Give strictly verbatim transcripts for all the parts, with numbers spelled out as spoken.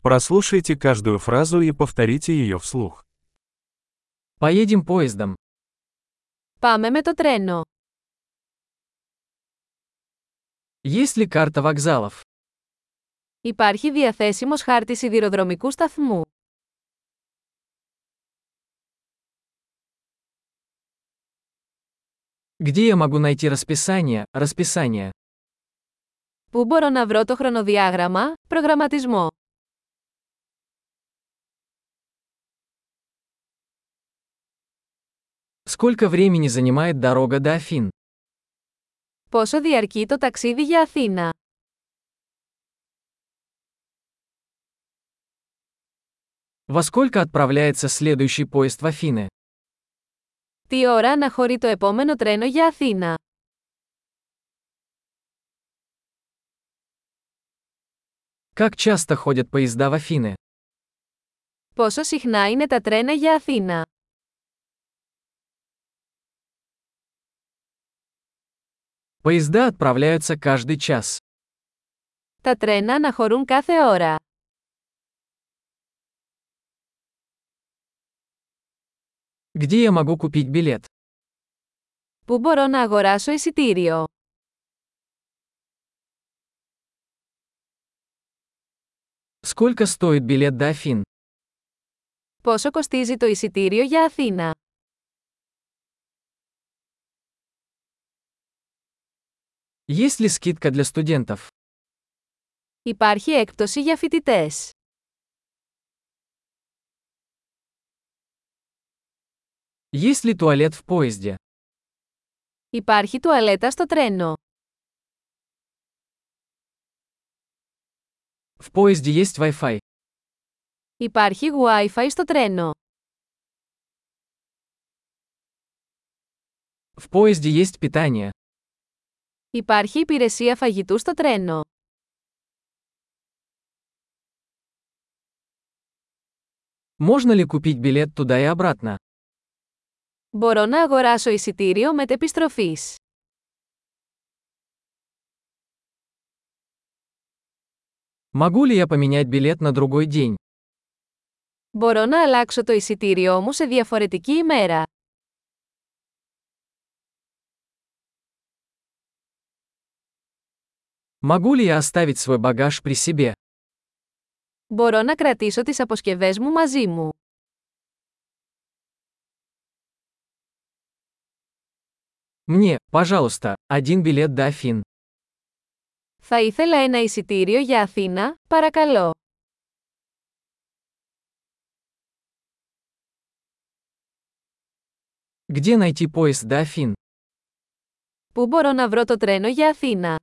Прослушайте каждую фразу и повторите ее вслух. Поедем поездом. Πάμε με το τρένο. Есть ли карта вокзалов? Υπάρχει διαθέσιμος χάρτης σιδηροδρομικού σταθμού. Где я могу найти расписание, расписание? Πού μπορώ να βρω το χρονοδιάγραμμα, προγραμματισμό. Сколько времени занимает дорога до Афин? Πόσο διαρκεί το ταξίδι για Αθήνα. Во сколько отправляется следующий поезд в Афины? Τι ώρα αναχωρεί το επόμενο τρένο για Αθήνα. Как часто ходят поезда в Афины? Πόσο συχνά είναι τα τρένα για Αθήνα. Поезда отправляются каждый час. Τα τρένα αναχωρούν κάθε ώρα. Где я могу купить билет? Πού μπορώ να αγοράσω εισιτήριο. Сколько стоит билет до Афин? Πόσο κοστίζει το εισιτήριο για Αθήνα. Есть ли скидка для студентов? Υπάρχει έκπτωση για φοιτητές. Есть ли туалет в поезде? Υπάρχει τουαλέτα στο τρένο. В поезде есть Wi-Fi. Υπάρχει Wi-Fi στο τρένο. В поезде есть питание. Υπάρχει υπηρεσία φαγητού στο τρένο. Можно ли купить билет туда и обратно? Μπορώ να αγοράσω εισιτήριο μετεπιστροφής. Могу ли я поменять билет на другой день? Μπορώ να αλλάξω το εισιτήριό μου σε διαφορετική ημέρα. Могу ли я оставить свой багаж при себе? Μπορώ να κρατήσω τις αποσκευές μου μαζί μου. Мне, пожалуйста, один билет до Афин. Θα ήθελα ένα εισιτήριο για Αθήνα, παρακαλώ. Где найти поезд до Афин? Πού μπορώ να βρω το τρένο για Αθήνα.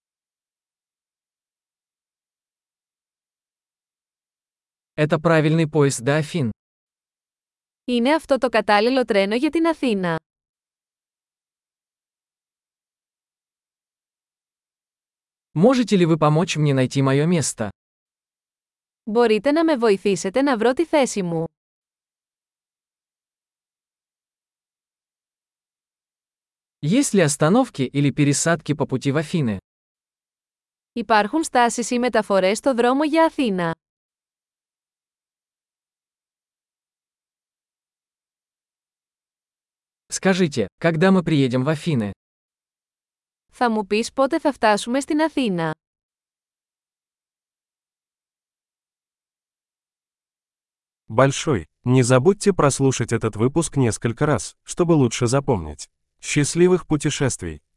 Это правильный поезд до Афин. Είναι αυτό το κατάλληλο τρένο για την Αθήνα. Можете ли вы помочь мне найти мое место? Μπορείτε να με βοηθήσετε να βρω τη θέση μου. Есть ли остановки или пересадки по пути в Афины? Υπάρχουν στάσεις ή μεταφορές στο δρόμο για Αθήνα. Скажите, когда мы приедем в Афины? Θα μου πεις πότε θα φτάσουμε στην Αθήνα. Большой. Не забудьте прослушать этот выпуск несколько раз, чтобы лучше запомнить. Счастливых путешествий!